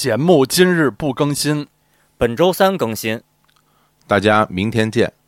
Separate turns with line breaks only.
节目今日不更新，
本周三更新。
大家明天见。